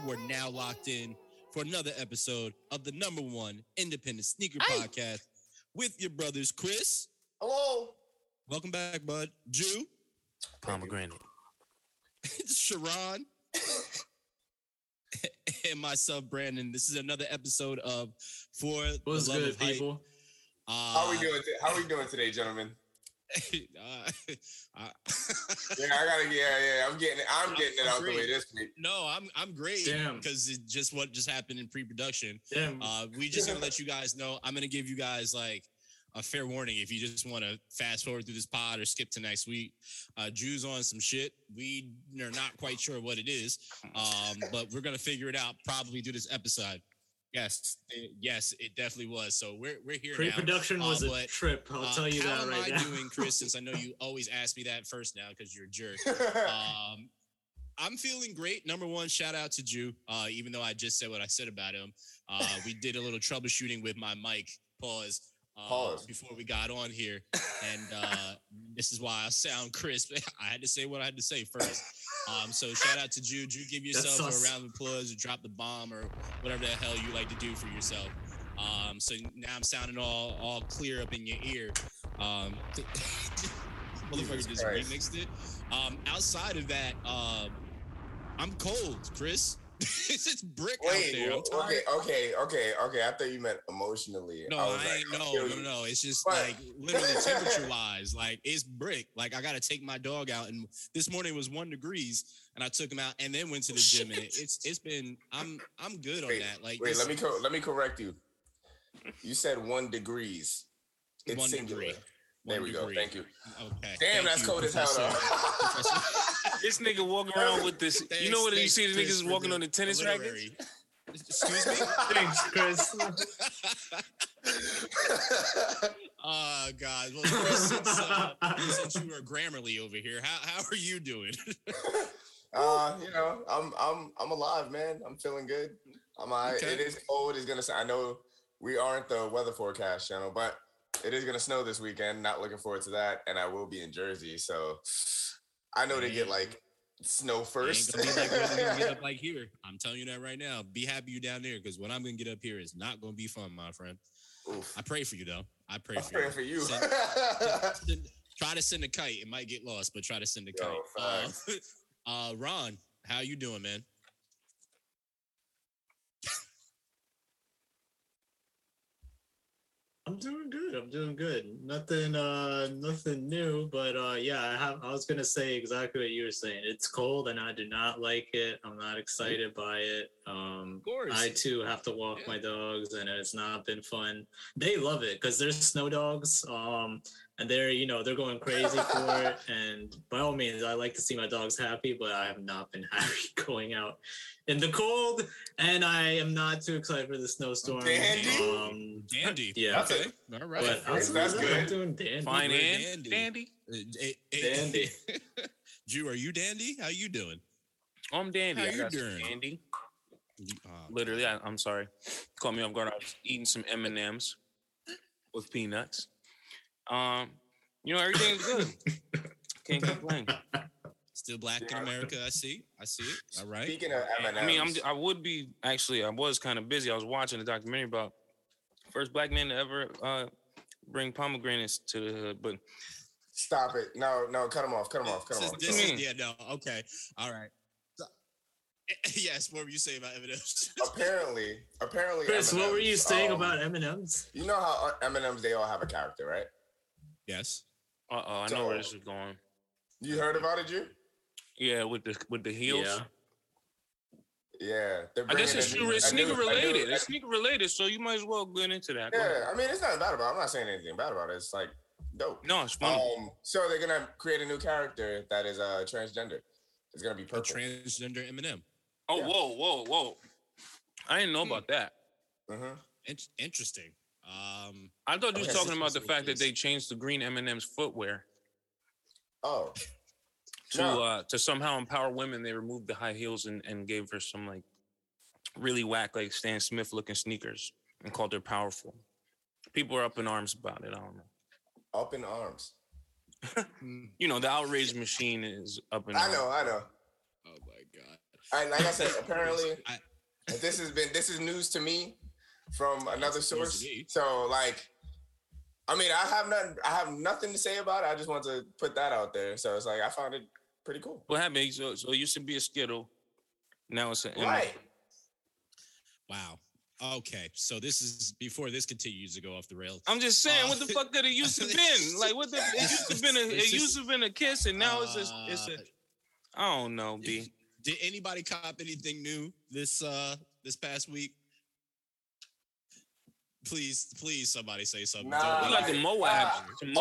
You are now locked in for another episode of the #1 independent sneaker podcast with your brothers, Chris. Hello. Welcome back, bud. Jew. Pomegranate. Sharon. And myself, Brandon. This is another episode of For What's the Love good, of Hype. people? How are we doing today, gentlemen? uh, I'm getting it out the way this week. No, I'm great. Damn. Because it just what just happened in pre-production. Damn. We just gonna let you guys know. I'm gonna give you guys like a fair warning if you just want to fast forward through this pod or skip to next week. Drew's on some shit. We are not quite sure what it is, but we're gonna figure it out probably through this episode. Yes, it definitely was. So we're here. Pre-production was a trip. I'll tell you that right now. How am I doing, Chris? Since I know you always ask me that first now because you're a jerk. I'm feeling great. #1, shout out to Jew. Even though I just said what I said about him, we did a little troubleshooting with my mic. Pause. Before we got on here, and this is why I sound crisp. I had to say what I had to say first. So shout out to Jew. Jew, give yourself a round of applause or drop the bomb or whatever the hell you like to do for yourself. So now I'm sounding all clear up in your ear. Motherfucker just remixed it. Outside of that, I'm cold, Chris. It's brick out there. Okay. I thought you meant emotionally. No, no. It's just like literally temperature-wise. Like it's brick. Like I got to take my dog out, and this morning was 1 degrees, and I took him out, and then went to the gym, and it's been. I'm good on that. Like let me correct you. You said 1 degrees. It's 1 singular. degree. There we go. Thank you. Okay. Damn, that's cold as hell, though. This nigga walking around with this. You know what you see the niggas walking on the tennis rackets? Excuse me? Thanks, Chris. Oh God. Well, Chris, since you were Grammarly over here, how are you doing? I'm alive, man. I'm feeling good. I'm all right. Okay. It is cold. It's gonna. I know we aren't the weather forecast channel, but it is gonna snow this weekend. Not looking forward to that, and I will be in Jersey, so I know they get like snow first. Ain't gonna be like what we're gonna get up like here. I'm telling you that right now. Be happy you down there, because what I'm gonna get up here is not gonna be fun, my friend. Oof. I pray for you though. I'm praying for you. Try to send a kite. It might get lost, but try to send a kite. Ron, how you doing, man? I'm doing good. Nothing new, but I was gonna say exactly what you were saying. It's cold and I do not like it. I'm not excited by it. Of course. I too have to walk my dogs, and it's not been fun. They love it because they're snow dogs. And they're going crazy for it. And by all means, I like to see my dogs happy, but I have not been happy going out in the cold. And I am not too excited for the snowstorm. Dandy. Yeah. Okay. All right. But that's good. I'm doing dandy. Fine and dandy. Dandy. Jew, are you dandy? How you doing? I'm dandy. How I you got some doing? dandy. Literally, I'm sorry. Caught me off guard. I was eating some M&Ms with peanuts. Everything's good. Can't complain. Still black in America. I see it. All right. Speaking of M&Ms, I mean, I was kind of busy. I was watching a documentary about first black man to ever bring pomegranates to the hood, but stop it. No, cut him off. Okay. All right. Yes, what were you saying about M&Ms? Apparently. Chris, M&Ms, what were you saying about M&Ms? You know how M&Ms, they all have a character, right? Yes. I know where this is going. You heard about it, Drew? Yeah, with the heels. Yeah. I guess it's sneaker related. It's sneaker related, so you might as well get into that. Yeah, I mean, it's not bad about it. I'm not saying anything bad about it. It's like dope. No, it's fun. So they're gonna create a new character that is transgender. It's gonna be purple. A transgender M&M. Oh, yeah. Whoa! I didn't know about that. Mm-hmm. Interesting. I thought you were talking about the fact that they changed the green M&M's footwear. Oh. To somehow empower women, they removed the high heels and gave her some like really whack like Stan Smith looking sneakers and called her powerful. People are up in arms about it. I don't know. Up in arms. The outrage machine is up in arms. I know. Oh my God. Like I said, apparently, this is news to me from another source. So like, I mean, I have nothing to say about it. I just want to put that out there. So it's like I found it pretty cool. What happened? So it used to be a Skittle. Now it's an M. Right. Wow. Okay, so this is before this continues to go off the rails. I'm just saying, what the fuck could it used to been? Like, what the? It used to been a kiss, and now it's a. I don't know, B. Did anybody cop anything new this past week? Please, somebody say something. Nah, we got the Moabs.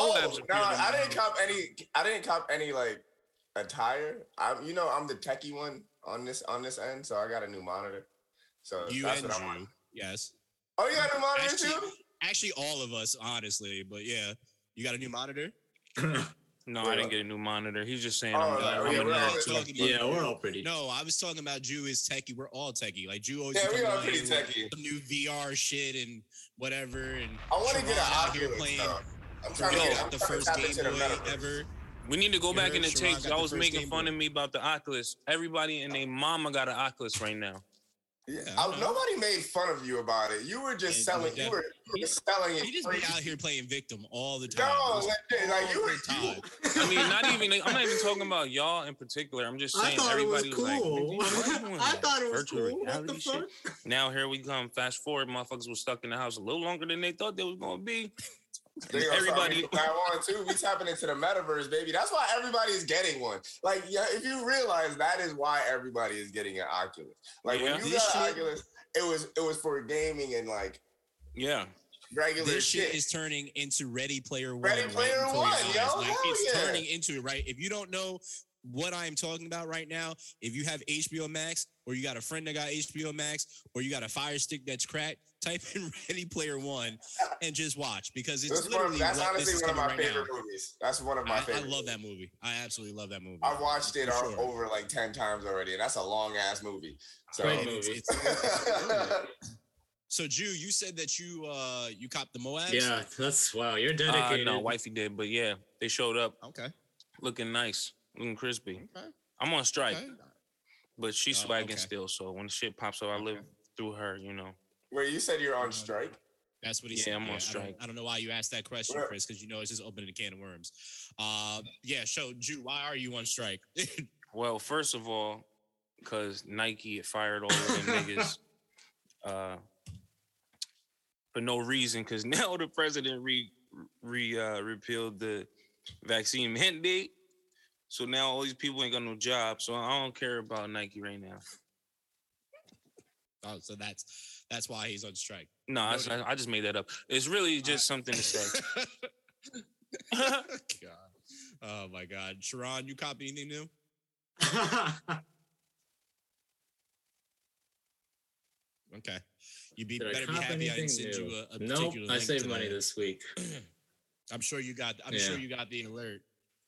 I didn't cop any like attire. I'm the techie one on this end, so I got a new monitor. So that's what I want. Yes. Oh, you got a new monitor too? Actually, all of us, honestly. But yeah, you got a new monitor? No, I didn't get a new monitor. He's just saying. We're all pretty. No, I was talking about Jew is techie. We're all techie. Like Jew always. Yeah, we are pretty techie. Some new VR shit and whatever. And I want to get an Oculus. I'm trying to get the first Game Boy ever. We need to go back in the tapes. Y'all was making fun of me about the Oculus. Everybody and their mama got an Oculus right now. Yeah, nobody made fun of you about it. You were just selling. You were selling it. He just be out here playing victim all the time. No, like you were. I mean, not even. I'm not even talking about y'all in particular. I'm just saying everybody was cool. Like, I thought it was cool. What the fuck? Now here we come. Fast forward, motherfuckers was stuck in the house a little longer than they thought they was gonna be. Everybody on too. We tapping into the metaverse, baby. That's why everybody is getting one. Like, yeah, if you realize that is why everybody is getting an Oculus. Like when you got an Oculus, it was for gaming and like regular this shit. Is turning into Ready Player One. Ready Player One, yo. Like it's turning into it, right? If you don't know what I'm talking about right now, if you have HBO Max or you got a friend that got HBO Max or you got a Fire Stick that's cracked, type in Ready Player One and just watch because it's literally that's honestly one of my favorite movies. That's one of my favorite. I love that movie. I absolutely love that movie. I've watched it over like 10 times already, and that's a long ass movie. So, great movie. So, Jew, you said that you copped the Moabs? Yeah, that's wow. You're dedicated. No, wifey did, but yeah, they showed up. Okay, looking nice, looking crispy. Okay. I'm on strike, but she's swagging still. So when shit pops up, I live through her. You know. Wait, you said you're on strike? That's what he said. Yeah, I'm on strike. I don't know why you asked that question, Chris, because you know it's just opening a can of worms. So, Jew, why are you on strike? Well, first of all, because Nike fired all of them niggas for no reason, because now the president repealed the vaccine mandate. So now all these people ain't got no job. So I don't care about Nike right now. Oh, so that's why he's on strike. No, I just made that up. It's really just something to say. God. Oh my God, Sharon, you copy anything new? Okay, you better be happy I didn't send you a particular link. I saved money this week. I'm sure you got. Sure you got the alert.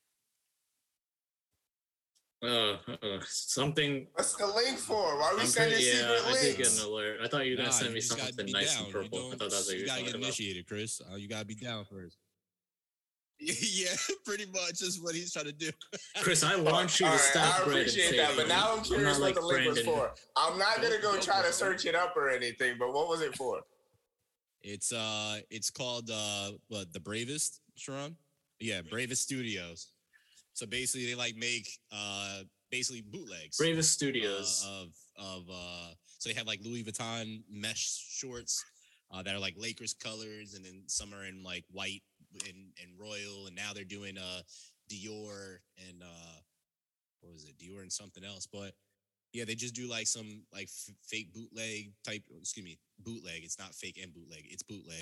Something. What's the link for? Why are we sending secret links? I did get an alert. I thought you were gonna send me something nice and purple. I thought that's what you gotta get initiated, Chris. You gotta be down first. Yeah, pretty much is what he's trying to do. Chris, I want you to stop. I appreciate that, but now I'm curious what the link was for. I'm not gonna go try to search it up or anything, but what was it for? It's called The Bravest, Sharon? Yeah, Bravest Studios. So basically, they like make basically bootlegs. Bravest Studios so they have like Louis Vuitton mesh shorts that are like Lakers colors, and then some are in like white and royal, and now they're doing Dior and what was it? Dior and something else, but yeah, they just do like some like fake bootleg type. Excuse me, bootleg. It's not fake and bootleg. It's bootleg.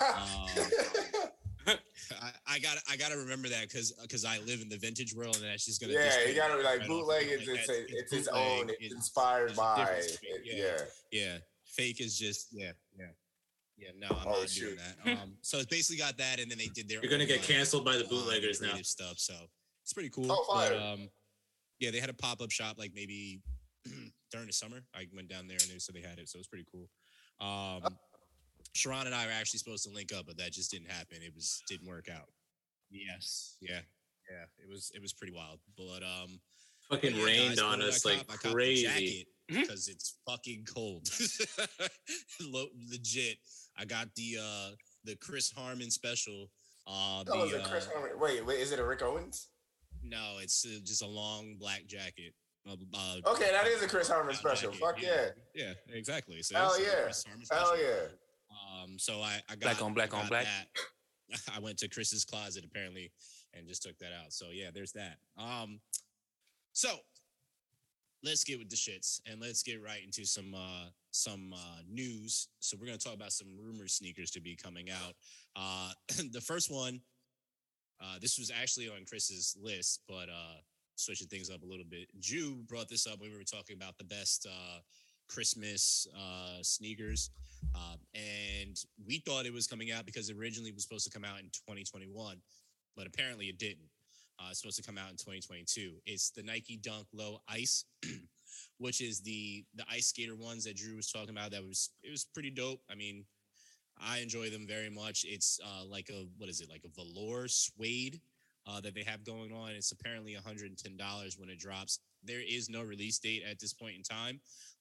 I gotta remember that because I live in the vintage world, and that's just gonna. Yeah, you gotta be like bootleg. It's its own. It's inspired by. Yeah. Fake is just yeah. No, I'm not doing that. So it's basically got that, and then they did their. You're gonna get canceled by the bootleggers now. Stuff, so it's pretty cool. Oh, fire. But, yeah, they had a pop-up shop like maybe during the summer. I went down there and they said they had it, so it was pretty cool. Sharon and I were actually supposed to link up, but that just didn't happen. It didn't work out. Yes. Yeah. It was pretty wild. But fucking Yeah, rained guys, on what did us I like cop? I copped a crazy. jacket because it's fucking cold. Legit. I got the Chris Harmon special. That was a Chris Harmon. Wait, is it a Rick Owens? No, it's just a long black jacket. Okay, that is a Chris Harmon special. Jacket. Fuck yeah. Yeah, exactly. So Hell it's a yeah. Chris Harmon special. Hell yeah. So I got Black on black I on got black. that. I went to Chris's closet apparently and just took that out. So yeah, there's that. So let's get with the shits and let's get right into some news. So we're gonna talk about some rumored sneakers to be coming out. The first one, this was actually on Chris's list, but switching things up a little bit. Jew brought this up when we were talking about the best Christmas sneakers, and we thought it was coming out because it originally was supposed to come out in 2021, but apparently it didn't. It's supposed to come out in 2022. It's the Nike Dunk Low Ice, which is the ice skater ones that Drew was talking about. It was pretty dope. I mean, I enjoy them very much. It's like a velour suede that they have going on. It's apparently $110 when it drops. There is no release date at this point in time.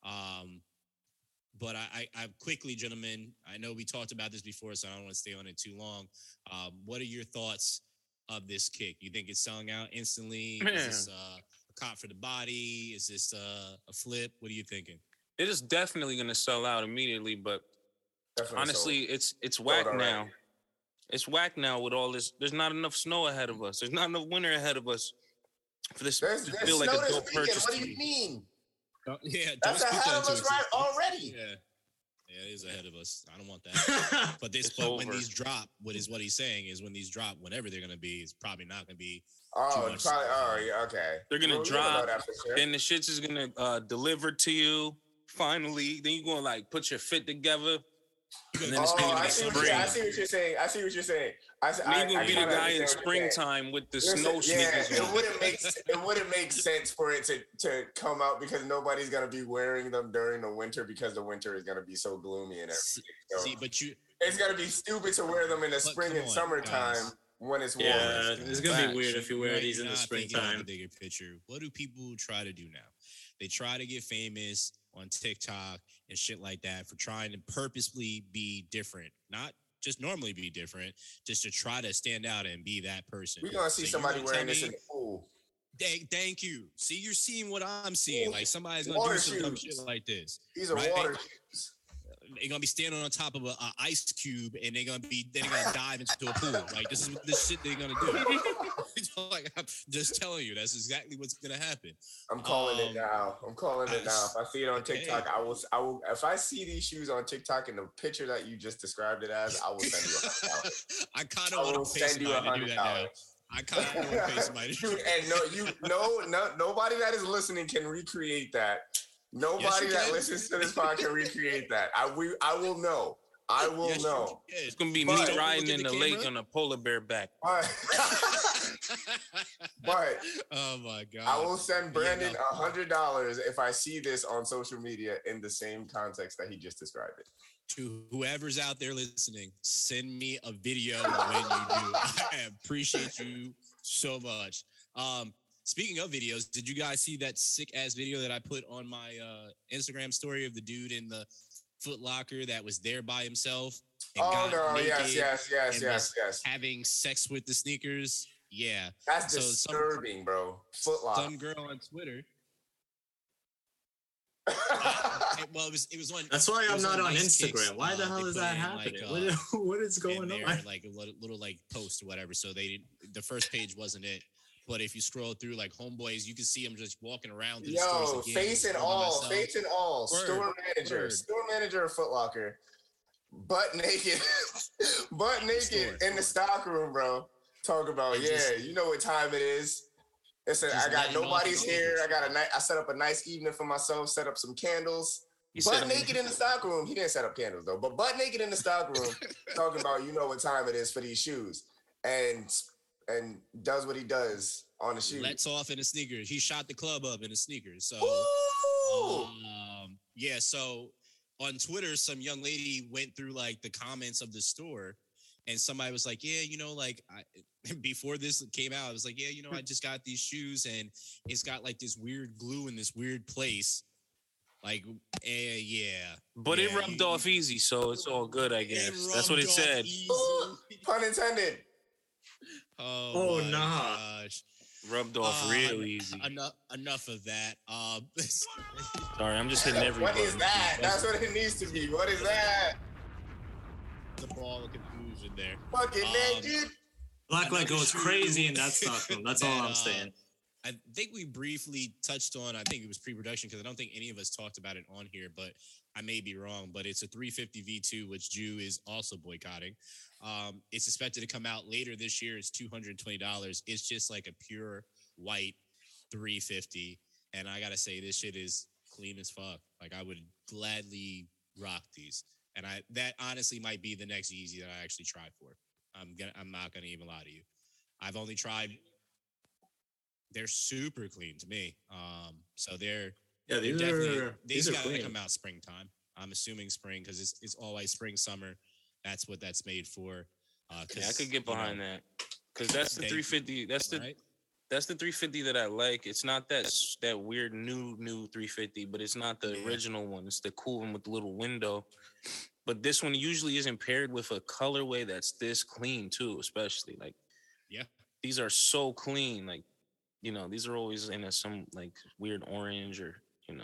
But I quickly, gentlemen, I know we talked about this before, so I don't want to stay on it too long. What are your thoughts of this kick? You think it's selling out instantly? Man. Is this a cop for the body? Is this a flip? What are you thinking? It is definitely going to sell out immediately, but Definitely honestly, sold. it's whack already. now. It's whack now with all this. There's not enough snow ahead of us. There's not enough winter ahead of us for this There's to snow feel like a this dope weekend. purchase. What to do you me. mean? Yeah, That's ahead of us right already. Yeah, it is ahead of us. I don't want that. But It's when over. these drop, what he's saying is when these drop, whenever they're gonna be, it's probably not gonna be. Oh, much probably. snow. Oh, yeah. Okay. They're gonna Well, we don't know drop, that for sure. then the shits is gonna deliver to you. Finally, then you're gonna like put your fit together. And then it's Oh, gonna I be see spring. what you're saying. I see what you're saying. Then you're gonna be the kinda guy in understand what you're saying. springtime with the Listen, snow yeah, sneakers. on. it wouldn't make sense for it to come out because nobody's gonna be wearing them during the winter because the winter is gonna be so gloomy and everything. So See, but it's gonna be stupid to wear them in the spring come and on, summertime guys. when it's warm. Yeah, it's gonna Facts. be weird if you wear Right, these you're in the not thinking of springtime. the bigger picture. What do people try to do now? They try to get famous on TikTok and shit like that for trying to purposely be different, not just normally be different, just to try to stand out and be that person. We're gonna see So you're somebody gonna wearing tell this me- in the pool. Thank you. See, you're seeing what I'm seeing. Like somebody's gonna Water do some dumb shoes. shit like this. These are Right. water shoes. They're gonna be standing on top of a ice cube and they're gonna dive into a pool. Like this is the shit they're gonna do. Like I'm just telling you, that's exactly what's gonna happen. I'm calling it now. I'm calling it now. If I see it on Okay. TikTok, I will. If I see these shoes on TikTok in the picture that you just described it as, I will send you $100. I kind I of want will to pay send you somebody to do that now. $100. I kind of want to pay somebody to do Dude, and nobody that is listening can recreate that. Nobody you that can. listens to this pod can recreate that. I will know. I will Yes, you know. can. It's gonna be But- me Don't riding look at in the the lake camera. on a polar bear back. But Oh my god! I will send Brandon no. $100 if I see this on social media in the same context that he just described it. To whoever's out there listening, send me a video when you do. I appreciate you so much. Speaking of videos, did you guys see that sick ass video that I put on my Instagram story of the dude in the Foot Locker that was there by himself? And Oh got no! naked Yes. having sex with the sneakers. Yeah. That's So some- disturbing, bro. Footlock. Some girl on Twitter. Well, it was on. That's why it I'm was not on Nice Kicks. Instagram. Why the They hell is put that in, happening? like, What is in going there, on? like a little like post or whatever. So they didn't. The first page wasn't it. But if you scroll through like homeboys, you can see them just walking around. Through the Yo, stores again, face and filming all, myself. face and all. Word, Store manager of Foot Locker, butt naked, Store. in the stock room, bro. Talk about And yeah, just- you know what time it is. Listen, Just I got letting off nobody's the here. orders. I set up a nice evening for myself. Set up some candles. He Butt said, naked in the stock room. He didn't set up candles though, but butt naked in the stock room, talking about you know what time it is for these shoes, and does what he does on the shoes. Lets off in the sneakers. He shot the club up in the sneakers. So Ooh! yeah. So on Twitter, some young lady went through like the comments of the store, And somebody was like, yeah, before this came out, I was like, yeah, I just got these shoes and it's got like this weird glue in this weird place. Like, yeah. But yeah, it rubbed off easy, so it's all good, I guess. That's what it said. Ooh, pun intended. Oh my nah. gosh. Rubbed off real easy. Enough of that. Sorry, I'm just hitting every What button. is that? That's what it needs to be. What is that? The ball of confusion there. Fucking naked. Blacklight goes crazy in that Stockholm. That's all I'm saying. I think we briefly touched on, I think it was pre-production because I don't think any of us talked about it on here, but I may be wrong, but it's a 350 V2, which Jew is also boycotting. It's expected to come out later this year. It's $220. It's just like a pure white 350. And I got to say, this shit is clean as fuck. Like, I would gladly rock these. And that honestly might be the next Yeezy that I actually try for. I'm not gonna even lie to you. I've only tried. They're super clean to me. So they're these gotta come out springtime. I'm assuming spring because it's always spring, summer. That's what that's made for. Yeah, I could get behind that because that's the 350. That's the 350 that I like. It's not that weird new 350, but it's not the original one. It's the cool one with the little window. But this one usually isn't paired with a colorway that's this clean too, especially like, these are so clean. Like, these are always in some like weird orange or,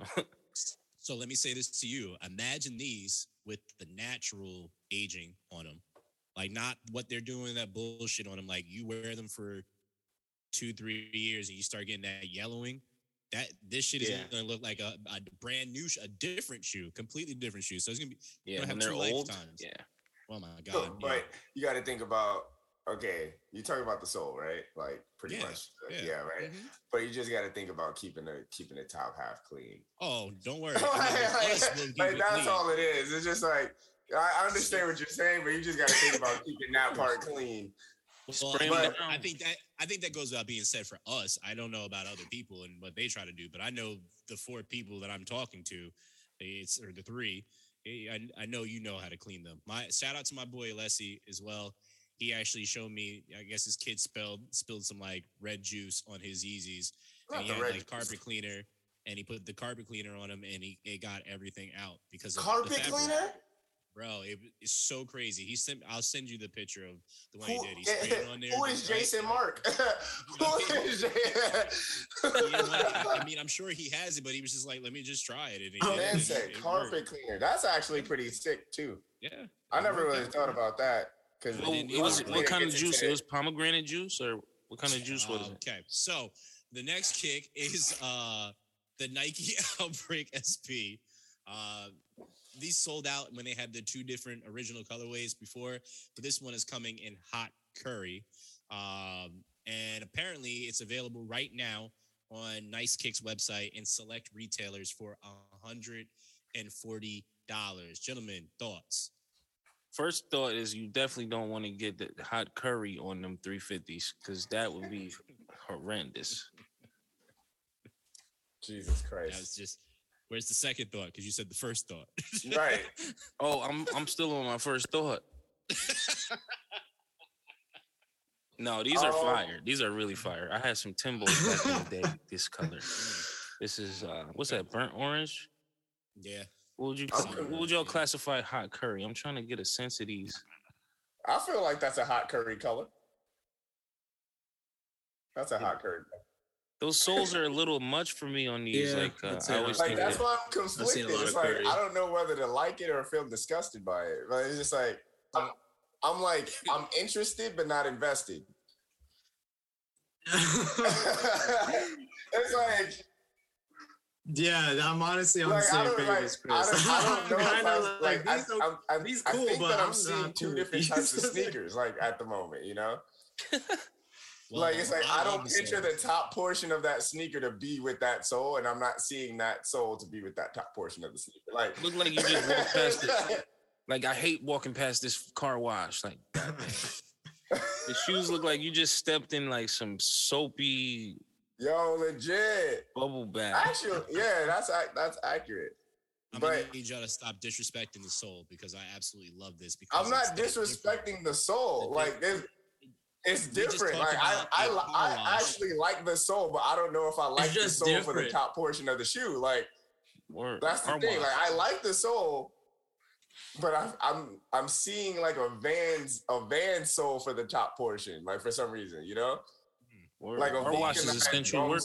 So let me say this to you. Imagine these with the natural aging on them. Like, not what they're doing, that bullshit on them. Like, you wear them for 2-3 years and you start getting that yellowing. This shit is gonna look like a brand new, a different shoe, completely different shoe. So it's gonna be when they're old. Lifetimes. Yeah. Oh my god. So, but you got to think about. Okay, you talk about the sole, right? Like pretty much, right? Mm-hmm. But you just got to think about keeping the top half clean. Oh, don't worry. That's all it is. It's just like I understand what you're saying, but you just got to think about keeping that part clean. Well, I think that goes without being said for us. I don't know about other people and what they try to do, but I know the 4 people that I'm talking to, or the 3. I know how to clean them. Shout out to my boy Alessi as well. He actually showed me. I guess his kid spilled some like red juice on his Yeezys, and he had like carpet cleaner, and he put the carpet cleaner on them, and it got everything out because of carpet cleaner. Bro, it's so crazy. I'll send you the picture of the one he did. He sprayed it on there. Who is Jason Mark? I mean, I'm sure he has it, but he was just like, let me just try it. And say carpet cleaner. That's actually pretty sick too. Yeah. I never really thought about that. Because what kind of juice? It was pomegranate juice, or what kind of juice was it? Okay, so the next kick is the Nike Outbreak SP. These sold out when they had the 2 different original colorways before, but this one is coming in hot curry. And apparently it's available right now on Nice Kicks website and select retailers for $140. Gentlemen, thoughts? First thought is you definitely don't want to get the hot curry on them 350s because that would be horrendous. Jesus Christ. That was just... Where's the second thought? Because you said the first thought. Right. Oh, I'm still on my first thought. No, these are fire. These are really fire. I had some Timbos back in the day. This color. This is what's that? Burnt orange. Yeah. What would y'all classify hot curry? I'm trying to get a sense of these. I feel like that's a hot curry color. That's a hot curry color. Those soles are a little much for me on these. I always like that's why I'm conflicted. It's like I don't know whether to like it or feel disgusted by it. But it's just like I'm interested but not invested. It's like I'm honestly on the same page as Chris. I don't know. These cool, I think that I'm seeing 2 different types of sneakers like at the moment, Well, like it's like I don't picture the top portion of that sneaker to be with that sole, and I'm not seeing that sole to be with that top portion of the sneaker. Like look like you just walked past it. Like I hate walking past this car wash. Like the shoes look like you just stepped in like some soapy. Yo, legit bubble bath. Actually, yeah, that's accurate. I'm gonna need y'all to stop disrespecting the soul because I absolutely love this. Because I'm not disrespecting the soul. Like it's different. Like I actually like the soul, but I don't know if I like the soul for the top portion of the shoe. Like that's the thing. Like I like the soul, but I'm seeing like a Van sole for the top portion. Like for some reason, you know, like a wash is essential work.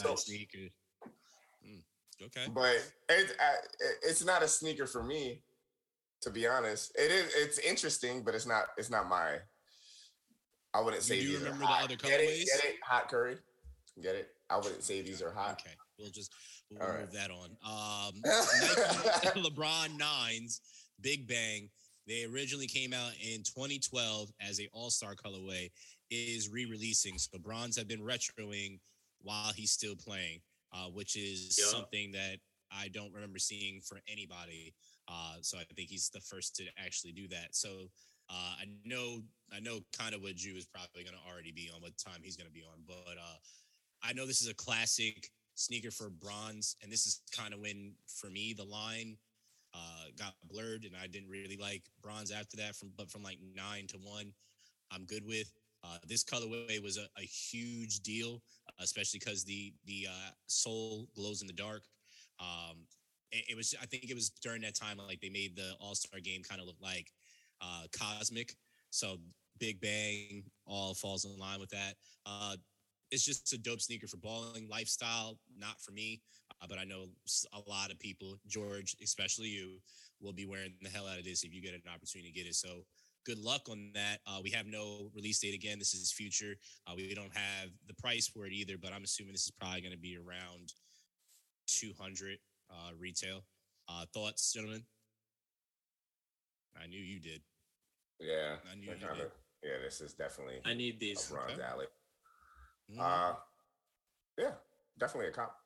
Okay, but it's not a sneaker for me, to be honest. It's interesting, but it's not my. I wouldn't say these are hot. Get it? Hot Curry. Get it? I wouldn't say these are hot. Okay, we'll move that on. Nike LeBron 9s, Big Bang. They originally came out in 2012 as a All-Star colorway. Is re-releasing. So bronze have been retroing while he's still playing, which is something that I don't remember seeing for anybody. So I think he's the first to actually do that. So I know kind of what Jew is probably going to already be on, what time he's going to be on. But I know this is a classic sneaker for bronze, and this is kind of when, for me, the line got blurred, and I didn't really like bronze after that. From like 9 to 1, I'm good with. This colorway was a huge deal, especially because the sole glows in the dark. It was, I think it was during that time, like they made the All-Star game kind of look like cosmic. So Big Bang all falls in line with that. It's just a dope sneaker for balling. Lifestyle, not for me, but I know a lot of people, George, especially you, will be wearing the hell out of this if you get an opportunity to get it. So good luck on that. We have no release date again. This is future. We don't have the price for it either, but I'm assuming this is probably going to be around 200 retail. Thoughts, gentlemen? I knew you did. Yeah, I knew you did. Yeah, this is definitely. I need these. A bronze alley. Mm-hmm. Yeah, definitely a cop.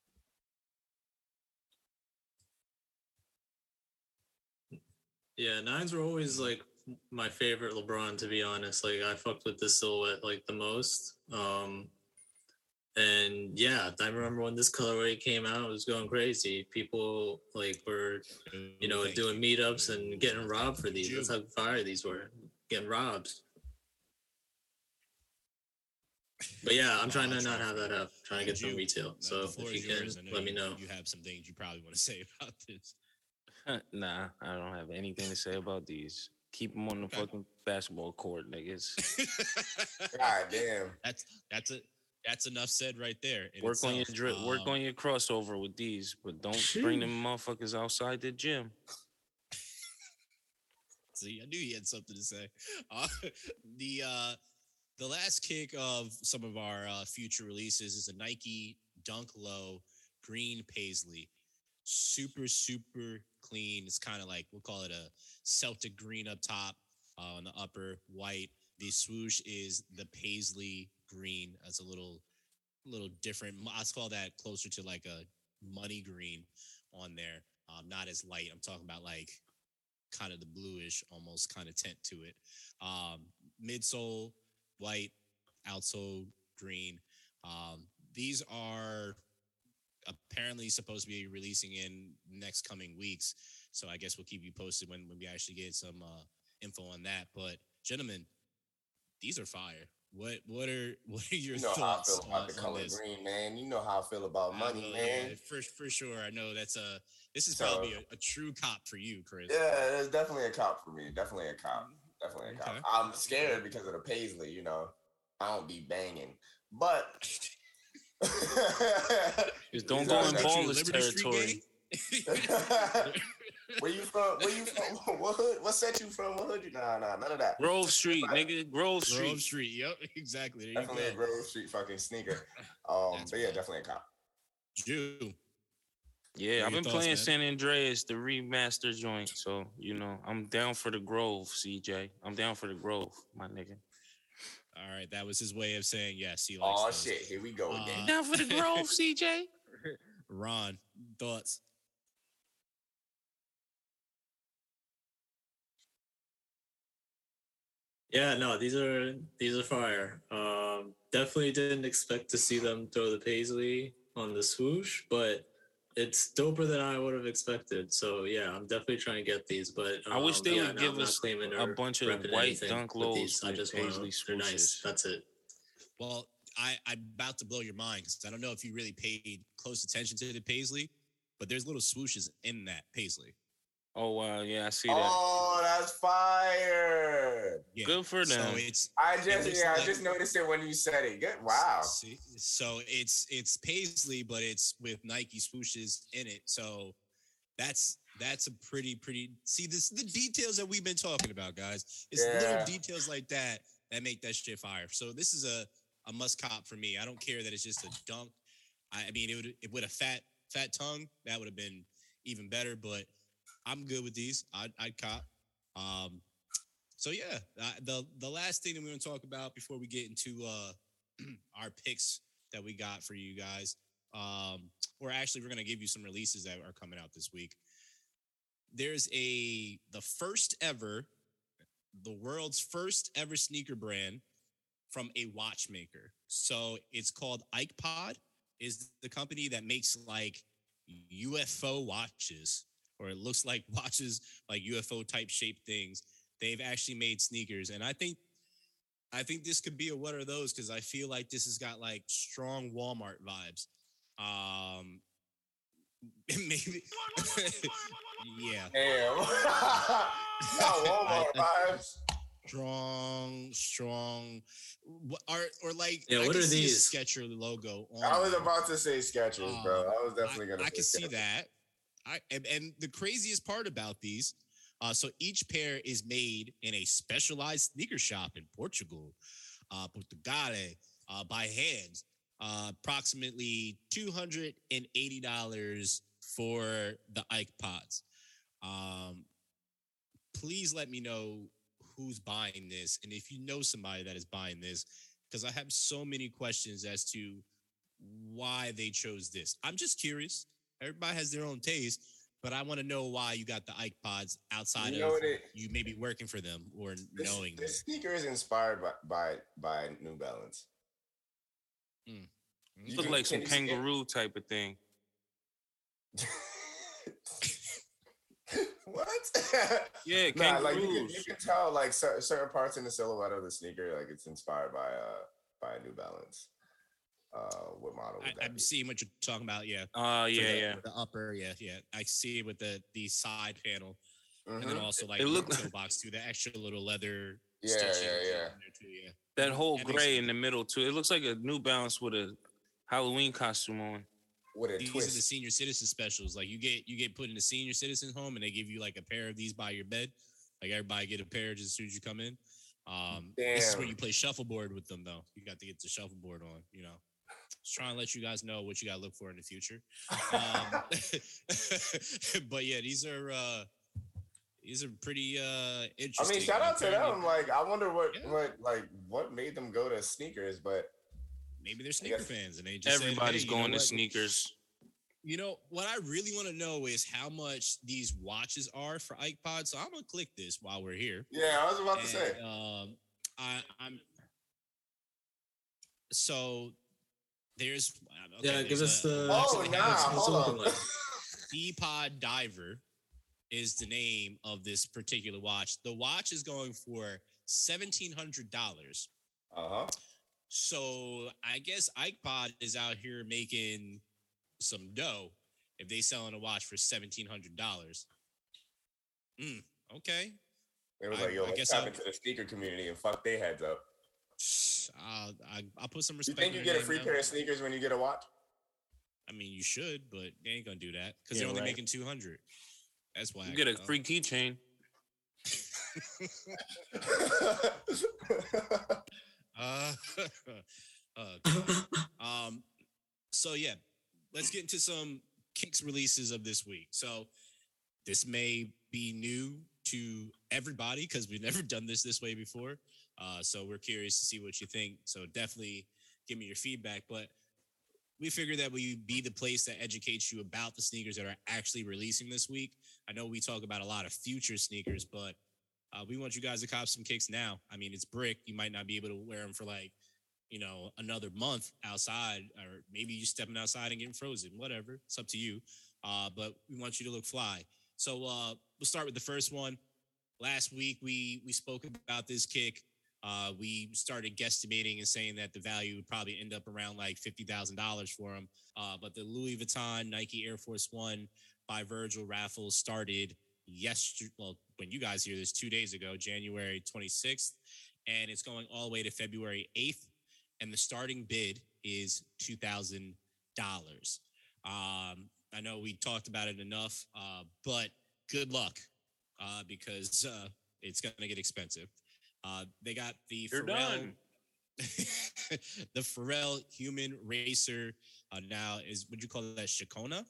Yeah, 9s were always like my favorite LeBron, to be honest. Like I fucked with this silhouette like the most. And yeah, I remember when this colorway came out, it was going crazy. People like were, doing meetups and getting robbed for these. That's how fire these were. Getting robbed. But yeah, I'm trying to not have that up. Trying to get some retail. So if you can, let me know. You have some things you probably want to say about this. Nah, I don't have anything to say about these. Keep them on the fucking basketball court, niggas. God damn. That's enough said right there. Work on your drip. Work on your crossover with these, but don't bring them motherfuckers outside the gym. See, I knew he had something to say. The last kick of some of our future releases is a Nike Dunk Low green paisley. Super, super clean. It's kind of like, we'll call it a Celtic green up top, on the upper white. The swoosh is the paisley green. That's a little different. I call that closer to like a money green on there. Not as light. I'm talking about like kind of the bluish, almost kind of tint to it. Midsole white, outsole green. These are apparently supposed to be releasing in next coming weeks. So I guess we'll keep you posted when we actually get some info on that. But gentlemen, these are fire. What are your thoughts? How I feel about the color green, man. You know how I feel about money, man. Yeah, for sure. I know this is probably a true cop for you, Chris. Yeah, it's definitely a cop for me. Definitely a cop. Definitely a cop. I'm scared because of the paisley, I don't be banging. But just don't go in ballless territory. Where you from? What hood? What set you from? What hood you? Nah, none of that. Grove Street, nigga. Grove Street. Grove Street. Yep, exactly. There definitely a Grove Street fucking sneaker. But yeah, definitely a cop. Jew. Yeah, I've been playing San Andreas, the remaster joint. So, I'm down for the Grove, CJ. I'm down for the Grove, my nigga. All right, that was his way of saying yes. He likes those. Shit, here we go again. Down for the Grove, CJ. Ron, thoughts? Yeah, no, these are fire. Definitely didn't expect to see them throw the paisley on the swoosh, but it's doper than I would have expected. So yeah, I'm definitely trying to get these. But I wish they would give I'm not us claiming a or bunch of repping white anything dunk with lows these. I with just paisley want they're nice. swooshes. That's it. Well, I'm about to blow your mind because I don't know if you really paid close attention to the paisley, but there's little swooshes in that paisley. Oh wow, yeah, I see that. Oh, that's fire! Yeah. Good for them. So it's I like, just noticed it when you said it. Good, wow. See, so it's paisley, but it's with Nike swooshes in it. So that's a pretty. See, this the details that we've been talking about, guys. It's little details like that make that shit fire. So this is a must cop for me. I don't care that it's just a dunk. I mean, it would a fat tongue that would have been even better. But I'm good with these. I'd cop. So yeah, the last thing that we want to talk about before we get into our picks that we got for you guys, or actually we're gonna give you some releases that are coming out this week. There's the world's first ever sneaker brand from a watchmaker. So it's called IkePod, is the company that makes like UFO watches, or it looks like watches, like UFO type shaped things. They've actually made sneakers. And I think this could be a what are those, because I feel like this has got like strong Walmart vibes. Maybe yeah. Damn. Walmart vibes. Strong. Or like, yeah. What are these? Skechers logo on I was about to say Skechers, bro. I was definitely gonna. I can see that. And the craziest part about these, so each pair is made in a specialized sneaker shop in Portugal, Portugal, by hand. Approximately $280 for the IkePods. Please let me know who's buying this, and if you know somebody that is buying this, because I have so many questions as to why they chose this. I'm just curious. Everybody has their own taste, but I want to know why you got the IkePods outside of you maybe working for them or knowing them. This sneaker is inspired by New Balance. Look like some kangaroo type of thing. What? Yeah, nah, kangaroos. like you can tell like certain parts in the silhouette of the sneaker, like it's inspired by New Balance. What model? I'm seeing what you're talking about. Yeah. Yeah. The upper, yeah. I see it with the side panel, Mm-hmm. and then also like it the look toe box too. The extra little leather. Yeah. Too, yeah. That whole gray in the middle too. It looks like a New Balance with a Halloween costume on. With a These twist. are the senior citizen specials. Like you get put in a senior citizen home, and they give you like a pair of these by your bed. Like everybody get a pair just as soon as you come in. This is where you play shuffleboard with them, though. You got to get the shuffleboard on. You know, just trying to let you guys know what you got to look for in the future. But yeah, these are pretty interesting. I mean, shout out to them. Like, I wonder what made them go to sneakers, but maybe they're sneaker fans, and they just everybody's said, going to sneakers. You know what I really want to know is how much these watches are for IkePod. So I'm gonna click this while we're here. Yeah, I was about to say. I'm. So there's. Okay, give us the. Hold on. D-Pod Diver is the name of this particular watch. The watch is going for $1,700. So I guess IkePod is out here making some dough if they selling a watch for $1,700. Okay. They was like, yo, let's tap into the sneaker community and fuck their heads up. I'll put some respect. You think you get a free pair of sneakers when you get a watch? I mean, you should, but they ain't gonna do that because they're only making 200. That's why you get a free keychain. So yeah, let's get into some Kicks releases of this week. So this may be new to everybody because we've never done this way before. So we're curious to see what you think. So definitely give me your feedback. But we figured that we be the place that educates you about the sneakers that are actually releasing this week. I know we talk about a lot of future sneakers, but we want you guys to cop some Kicks now. I mean, it's brick. You might not be able to wear them for like another month outside, or maybe you stepping outside and getting frozen, whatever. It's up to you. But we want you to look fly. So we'll start with the first one. Last week, we spoke about this kick. We started guesstimating and saying that the value would probably end up around like $50,000 for him. But the Louis Vuitton Nike Air Force One by Virgil raffle started yesterday. Well, when you guys hear this, 2 days ago, January 26th, and it's going all the way to February 8th. And the starting bid is $2,000. I know we talked about it enough, but good luck because it's going to get expensive. They got the Pharrell, the Pharrell Human Racer. Now would you call that Shakona?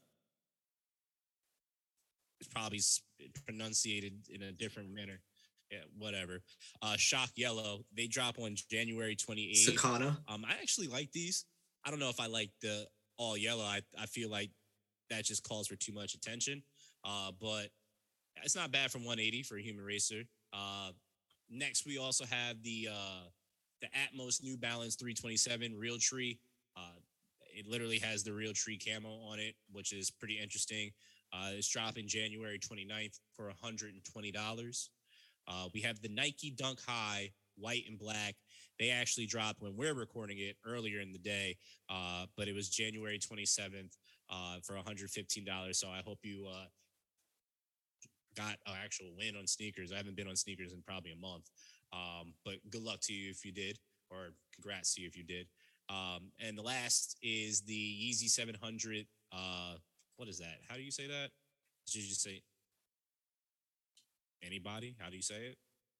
It's probably pronunciated in a different manner. Yeah, whatever. Shock Yellow. They drop on January 28th. Sakana. I actually like these. I don't know if I like the all yellow. I feel like that just calls for too much attention. But it's not bad from 180 for a Human Racer. Next, we also have the Atmos New Balance 327 Realtree. It literally has the Realtree camo on it, which is pretty interesting. It's dropping January 29th for $120. We have the Nike Dunk High, white and black. They actually dropped when we're recording it earlier in the day, but it was January 27th for $115. So I hope you got an actual win on sneakers. I haven't been on sneakers in probably a month, but good luck to you if you did, or congrats to you if you did. And the last is the Yeezy 700. What is that? How do you say that? Did you just say anybody? How do you say it?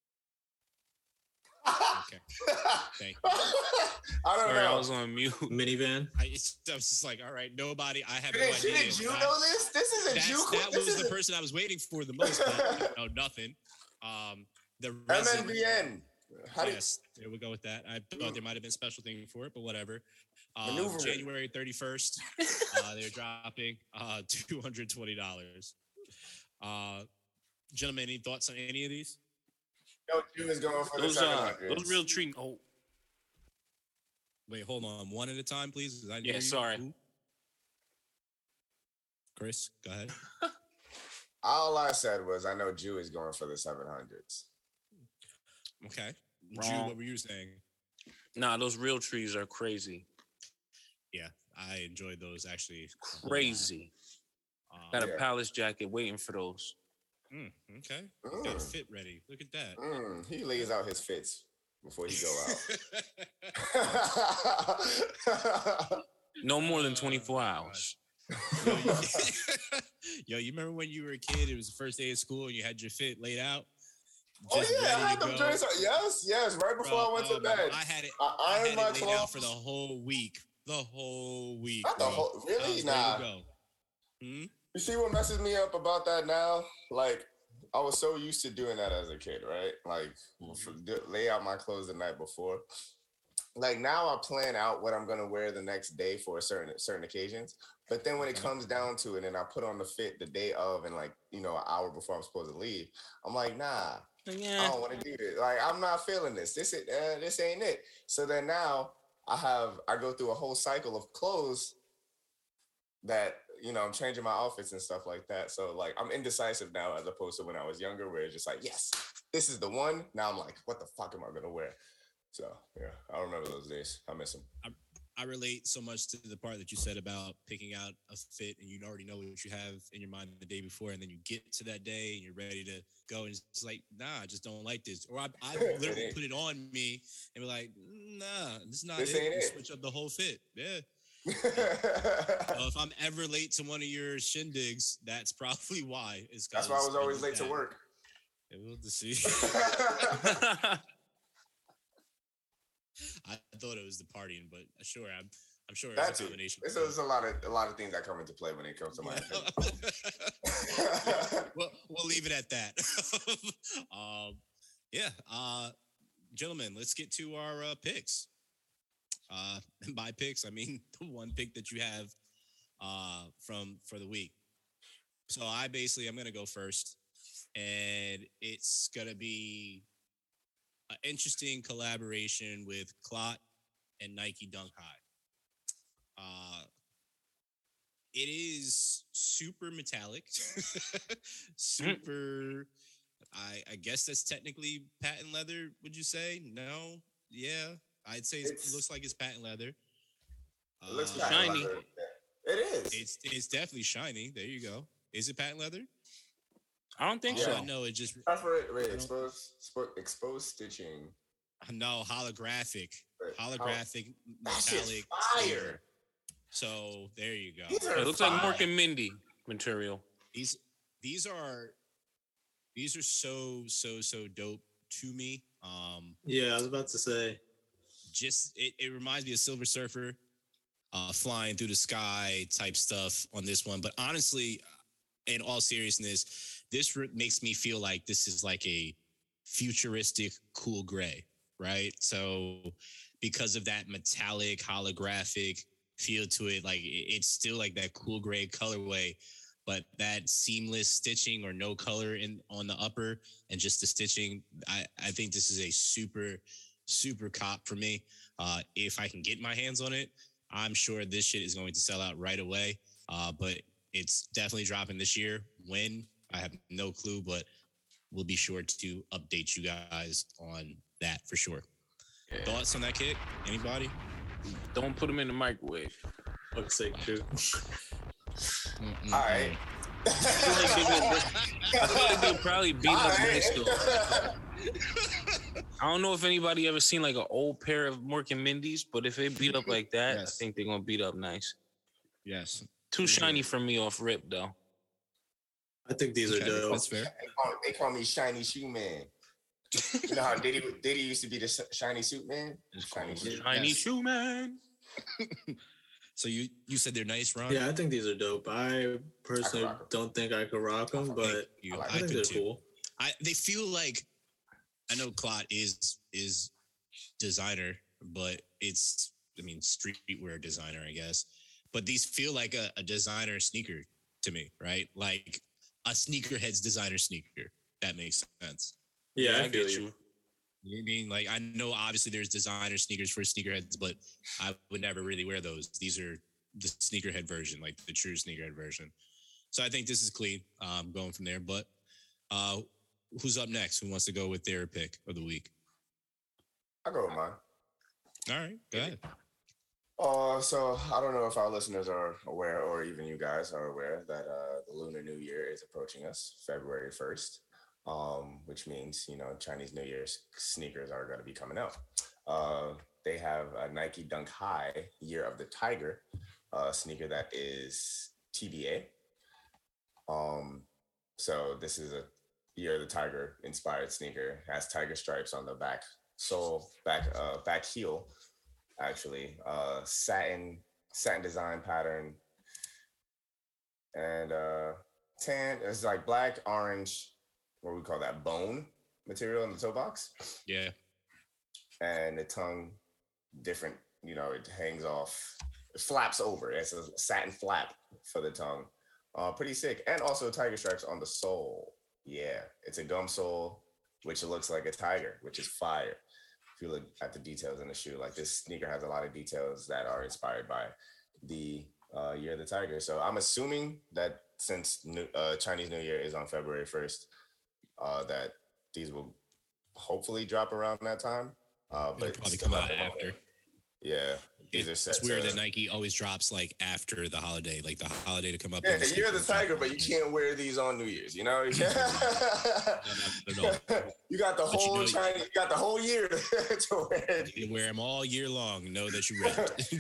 Okay. Thank you. I don't know. I was on mute. Minivan. I was just like, all right, nobody. I have no idea. Did you know this? This is a Jew. That was the person I was waiting for the most. But, nothing. The MNBN. Yes, there we go with that. I thought there might have been a special thing for it, but whatever. January 31st, they're dropping $220. Gentlemen, any thoughts on any of these? No, Jew is going for Those the 700. those Realtree. Oh, Wait, hold on. One at a time, please. sorry. Ooh. Chris, go ahead. All I said was I know Jew is going for the 700s. Okay. Wrong. Drew, what were you saying? Nah, those Realtrees are crazy. Yeah, I enjoyed those actually. Crazy. Got a Yeah. Palace jacket waiting for those. Okay. Got a fit ready. Look at that. He lays out his fits before he go out. No more than 24 hours. Yo, you remember when you were a kid? It was the first day of school and you had your fit laid out. Oh yeah, I had them joints. Yes. Right before I went to bed, I had it. I ironed my laid out clothes for the whole week. Not the whole. Really? Ready Nah. to go. You see what messes me up about that now? Like, I was so used to doing that as a kid, right? Like, lay out my clothes the night before. Like, now I plan out what I'm gonna wear the next day for certain occasions. But then when it comes down to it, and I put on the fit the day of, and like an hour before I'm supposed to leave, I'm like, nah, I don't want to do this. Like, I'm not feeling this. This ain't it. So then now I go through a whole cycle of clothes that I'm changing my outfits and stuff like that. So like I'm indecisive now as opposed to when I was younger, where it's just like, yes, this is the one. Now I'm like, what the fuck am I gonna wear? So yeah, I remember those days. I miss them. I relate so much to the part that you said about picking out a fit and you already know what you have in your mind the day before, and then you get to that day and you're ready to go, and it's like, nah, I just don't like this. Or I literally put it on me and be like, nah, this is not This it. ain't it. Switch up the whole fit. Yeah. If I'm ever late to one of your shindigs, that's probably why. That's why I was always late to work. Yeah, we'll see. I thought it was the partying, but sure, I'm sure it's a combination. There's a lot of things that come into play when it comes to my opinion. We'll leave it at that. Gentlemen, let's get to our picks. And by picks, I mean the one pick that you have for the week. So I'm going to go first, and it's going to be an interesting collaboration with Clot and Nike Dunk High. It is super metallic, super. I guess that's technically patent leather. Would you say? No. Yeah, I'd say it looks like it's patent leather. It looks shiny. leather. It is. It's definitely shiny. There you go. Is it patent leather? I don't think Oh, so. I know it just. Wait, exposed stitching. No, holographic. Wait, Holographic That shit's metallic. fire. So there you go. These are It looks fire. like Mork and Mindy material. These are so dope to me. Yeah, I was about to say. Just it reminds me of Silver Surfer, flying through the sky type stuff on this one. But honestly, in all seriousness, this makes me feel like this is like a futuristic cool gray, right? So because of that metallic holographic feel to it, like it's still like that cool gray colorway, but that seamless stitching or no color on the upper and just the stitching, I think this is a super cop for me. If I can get my hands on it, I'm sure this shit is going to sell out right away. But it's definitely dropping this year. When? I have no clue, but we'll be sure to update you guys on that for sure. Yeah. Thoughts on that kick? Anybody? Don't put them in the microwave. Fuck's sake, too. All right. I feel like they'll probably beat up nice though. I don't know if anybody ever seen like an old pair of Mork and Mindy's, but if they beat up like that, Yes. I think they're gonna beat up nice. Yes. Too shiny for me off rip though. I think these are Okay, dope. that's fair. They call me Shiny Shoe Man. You know how Diddy used to be the shiny suit man? Shiny shoe. Shiny Yes. shoe man. So you said they're nice, Ron? Yeah, I think these are dope. I personally rock 'em. don't think I could rock them, but You. I I I think could they're too. cool. They feel like, I know Clot is designer, but it's, I mean, streetwear designer, I guess. But these feel like a designer sneaker to me, right? Like a sneakerhead's designer sneaker. That makes sense. Yeah, I I feel get you. you. You know what I mean? Like, I know obviously there's designer sneakers for sneakerheads, but I would never really wear those. These are the sneakerhead version, like the true sneakerhead version. So I think this is clean, going from there. But who's up next? Who wants to go with their pick of the week? I'll go with mine. All right, go ahead. So I don't know if our listeners are aware, or even you guys are aware, that the Lunar New Year is approaching us, February 1st, which means, Chinese New Year's sneakers are going to be coming out. They have a Nike Dunk High Year of the Tiger sneaker that is TBA. So this is a Year of the Tiger inspired sneaker. It has tiger stripes on the back sole, back heel. Actually, satin design pattern, and tan. It's like black, orange, what we call that, bone material in the toe box, Yeah. and the tongue different. It hangs off, it flaps over. It's a satin flap for the tongue. Pretty sick, and also tiger stripes on the sole. Yeah, it's a gum sole, which looks like a tiger, which is fire. If you look at the details in the shoe, like this sneaker has a lot of details that are inspired by the Year of the Tiger. So I'm assuming that since Chinese New Year is on February 1st, that these will hopefully drop around that time. It'll But probably still come out not the after. Yeah, these are set It's weird to- that Nike always drops like after the holiday, like the holiday to come up. Yeah, and the Year of the drop Tiger, but you it. can't wear these on New Year's. You No. You got the But you whole know- Chinese, you got the whole year to wear it. You can wear them all year long. Know that you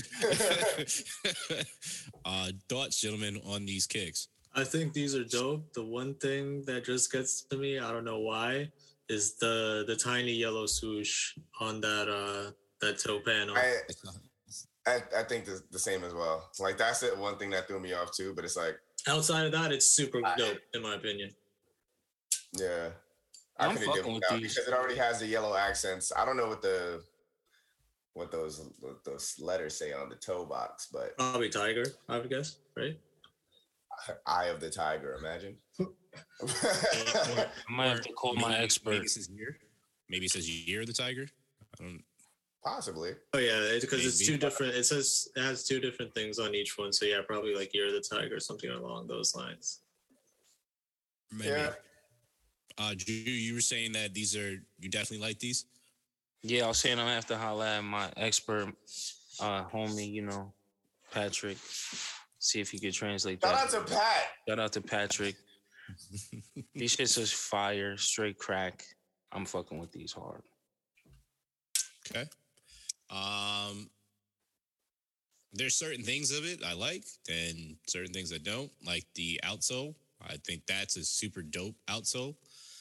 read. Thoughts, gentlemen, on these kicks? I think these are dope. The one thing that just gets to me, I don't know why, is the tiny yellow swoosh on that toe panel. I think the same as well. Like that's it. One thing that threw me off too. But it's like, Outside of that, it's super dope in my opinion. yeah, I'm couldn't fucking do it with without these. because it already has the yellow accents. I don't know what those letters say on the toe box, but Probably tiger, I would guess, right? Eye of the Tiger. Imagine. I might have to call my expert. Maybe it says year. Maybe it says year of the tiger. I don't. Possibly. Oh yeah, because it's Maybe. two different. It has two different things on each one. So yeah, probably like Year of the Tiger or something along those lines. Maybe. Yeah. Drew, you were saying that you definitely like these. Yeah, I was saying I'm gonna have to holler at my expert homie, Patrick. See if he could translate Shout that. out to Pat. Shout out to Patrick. These shits is fire, straight crack. I'm fucking with these hard. Okay. There's certain things of it I like, and certain things I don't. Like the outsole, I think that's a super dope outsole.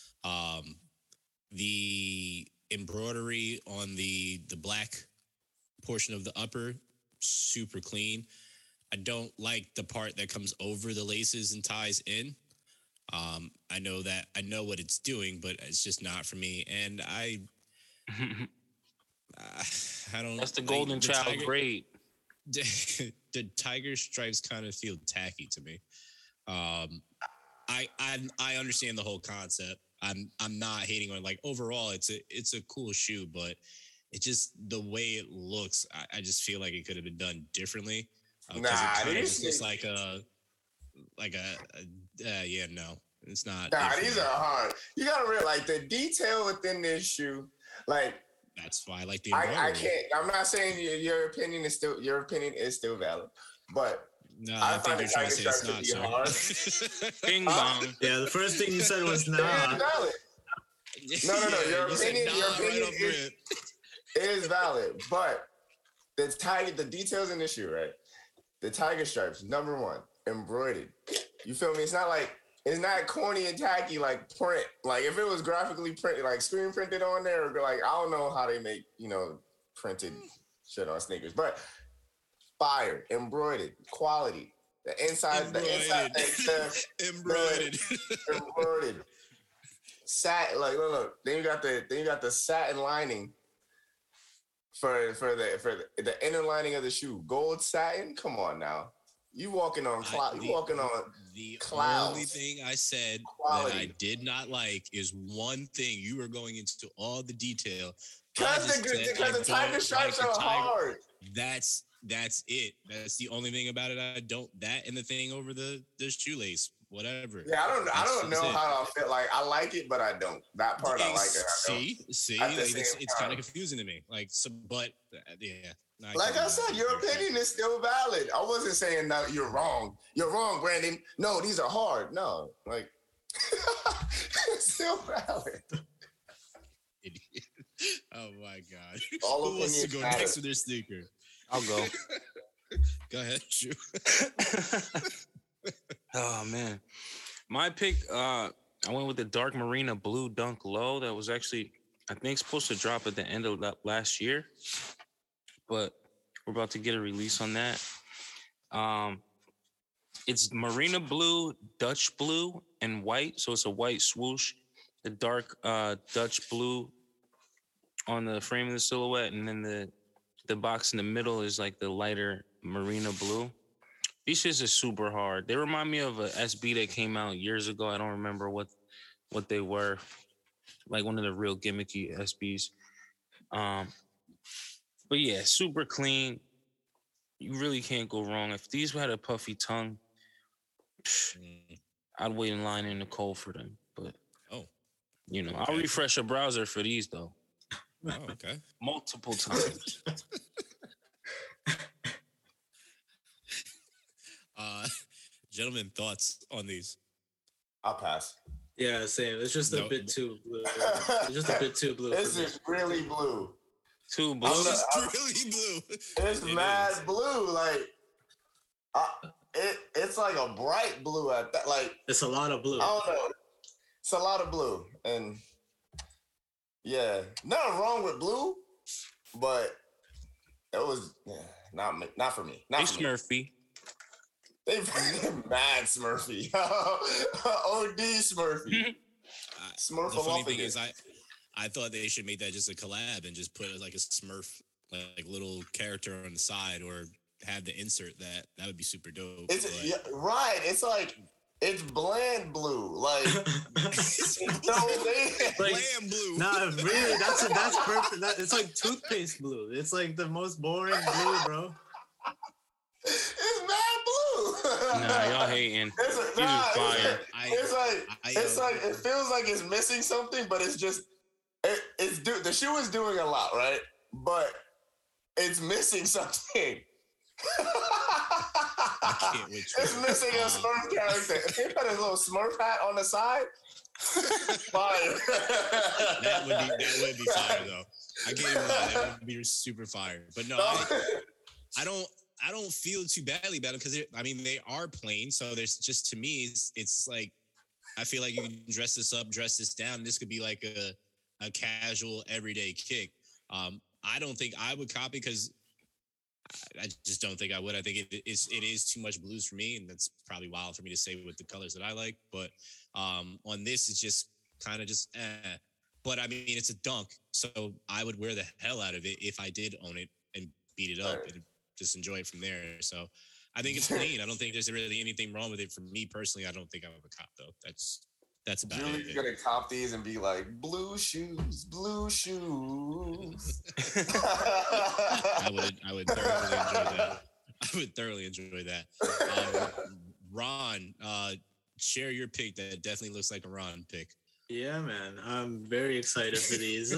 The embroidery on the black portion of the upper, super clean. I don't like the part that comes over the laces and ties in. I know what it's doing, but it's just not for me. And I don't. That's the like, golden child grade. The tiger stripes kind of feel tacky to me. I understand the whole concept. I'm not hating on, like, overall it's a cool shoe, but it just, the way it looks, I just feel like it could have been done differently. Nah, it kind of these just looks like no, it's not. Nah, these are hard. You gotta realize the detail within this shoe, like. That's why I like the I embroidery. can't. I'm not saying your opinion is still valid, but No, I I think find you're the trying to tiger say it's stripes not, to sir. Bing bong. Yeah, the first thing you said was it is nah. valid. No. Your You said opinion, nah your right opinion off rip. is valid, but the details in the shoe, right? The tiger stripes, number one, embroidered. You feel me? It's not corny and tacky like print. Like if it was graphically printed, like screen printed on there, or like I don't know how they make printed shit on sneakers, but fire, embroidered, quality. The inside, Embroidered. embroidered. Satin, like look. Then you got the satin lining for the inner lining of the shoe. Gold satin. Come on now. You walking on cloud. You walking on the clouds. only thing I said Quality. that I did not like is one thing. You were going into all the detail. Because the tiger stripes are hard. That's it. That's the only thing about it. I don't. That and the thing over the shoelace, whatever. Yeah, I don't know how I feel. Like I like it, but I don't. That part I like it. See, like, it's kind of confusing to me. Like, so, but yeah. No, like I said, your opinion is still valid. I wasn't saying no, you're wrong. You're wrong, Brandon. No, these are hard. No, like it's still valid. Idiot. Oh my god. All Who wants to go matter. next with their sneaker? I'll go. Go ahead, shoot. Oh man, my pick. I went with the dark marina blue Dunk Low. That was actually, I think, supposed to drop at the end of last year, but we're about to get a release on that. It's marina blue, Dutch blue, and white. So it's a white swoosh. The dark Dutch blue on the frame of the silhouette, and then the box in the middle is like the lighter marina blue. These shits are super hard. They remind me of a SB that came out years ago. I don't remember what they were. Like one of the real gimmicky SBs. But yeah, super clean. You really can't go wrong. If these had a puffy tongue, I'd wait in line in the cold for them. But I'll refresh a browser for these though. Oh, okay. Multiple times. Gentlemen, thoughts on these? I'll pass. Yeah, same. It's just a bit too blue. It's just a bit too blue. This is really blue. Too blue. It's really blue. It's mad blue. Like it's like a bright blue at that. Like it's a lot of blue. I don't know. It's a lot of blue, and yeah, nothing wrong with blue, but it was not for me. Not Hey, for me. Smurfy. They mad Smurfy. OD Smurfy. The funny thing is, I thought they should make that just a collab and just put like a Smurf, like little character on the side, or have the insert that would be super dope. Right. It's like It's bland blue. Like, bland blue. Nah, really, that's perfect. It's like toothpaste blue. It's like the most boring blue, bro. It's mad blue. Nah, y'all hating. Fire. It's like it feels like it's missing something, but it's just the shoe is doing a lot, right? But it's missing something. I can't wait. It's missing a Smurf character. If he put his little Smurf hat on the side, fire. That would be fire though. I can't even lie. That would be super fire. But no, I don't feel too badly about it because they are plain. So there's just, to me, it's like, I feel like you can dress this up, dress this down. This could be like a casual everyday kick. I don't think I would copy because I just don't think I would. I think it is too much blues for me, and that's probably wild for me to say with the colors that I like. But on this, it's just kind of just eh. But I mean, it's a dunk, so I would wear the hell out of it if I did own it and beat it up and just enjoy it from there. So I think it's clean. I don't think there's really anything wrong with it. For me personally, I don't think I'm a cop though. That's about Julie's it. gonna cop these and be like, blue shoes, blue shoes. I would thoroughly enjoy that. I would thoroughly enjoy that. Ron, share your pick. That definitely looks like a Ron pick. Yeah, man. I'm very excited for these.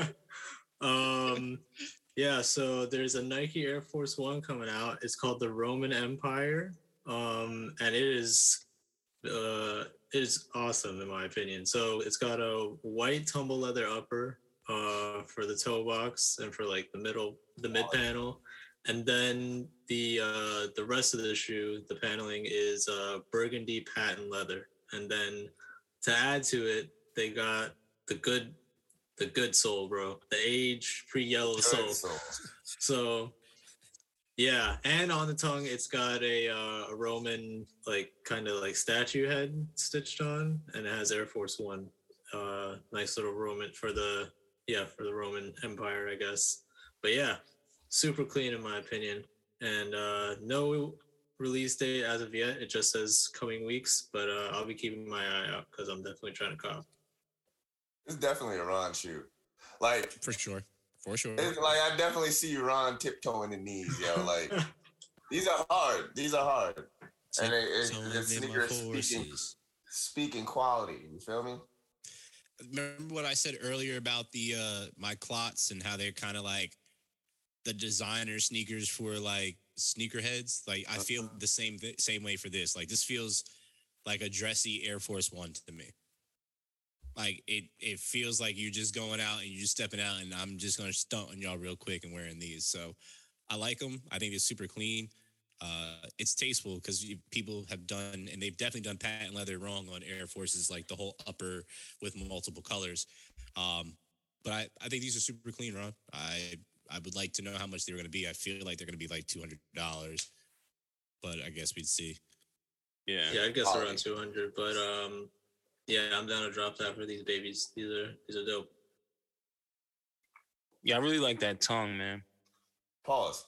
Yeah, so there's a Nike Air Force One coming out. It's called the Roman Empire. And it is awesome in my opinion. So it's got a white tumble leather upper for the toe box and for like the mid panel. And then the rest of the shoe, the paneling is burgundy patent leather. And then to add to it, they got the good sole, bro. The age pre-yellow sole. So yeah, and on the tongue, it's got a Roman like kind of like statue head stitched on, and it has Air Force One. Nice little Roman for the Roman Empire, I guess. But yeah, super clean in my opinion, and no release date as of yet. It just says coming weeks, but I'll be keeping my eye out because I'm definitely trying to cop. It's definitely a Ron shoe. Like, For sure. It's like, I definitely see Ron tiptoeing the knees, yo. Like, these are hard. And the sneakers speaking quality. You feel me? Remember what I said earlier about the my clots and how they're kind of like the designer sneakers for like sneakerheads? Like, I feel the same way for this. Like, this feels like a dressy Air Force One to me. Like, it feels like you're just going out and you're just stepping out, and I'm just going to stunt on y'all real quick and wearing these. So I like them. I think they're super clean. It's tasteful because people have done, and they've definitely done patent leather wrong on Air Forces, like the whole upper with multiple colors. But I think these are super clean, Ron. I would like to know how much they're going to be. I feel like they're going to be like $200, but I guess we'd see. Yeah, I guess around 200, but yeah, I'm down to drop that for these babies. These are dope. Yeah, I really like that tongue, man. Pause.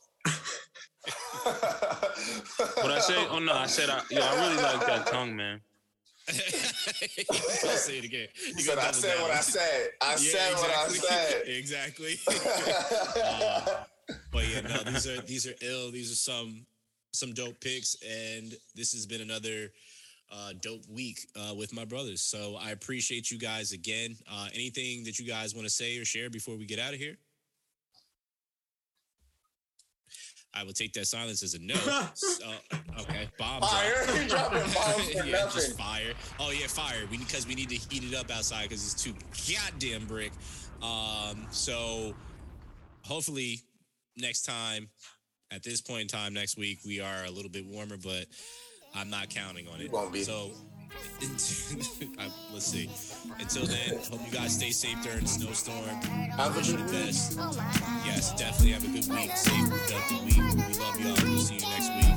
What I say? Oh no, I said I really like that tongue, man. I'll say it again. I said what I said. I said what I said. Exactly. But yeah, no, these are ill. These are some dope picks, and this has been another dope week with my brothers. So I appreciate you guys again. Anything that you guys want to say or share before we get out of here? I will take that silence as a no. Okay, bomb fire. Drop. You dropping bombs for yeah, nothing. Just fire. Oh yeah, fire. Because we need to heat it up outside because it's too goddamn brick. So hopefully next time, at this point in time next week, we are a little bit warmer, but I'm not counting on it. Won't be. So let's see. Until then, hope you guys stay safe during the snowstorm. I wish you the best. Yes, definitely have a good week. Safe, productive week. We love y'all. We'll see you next week.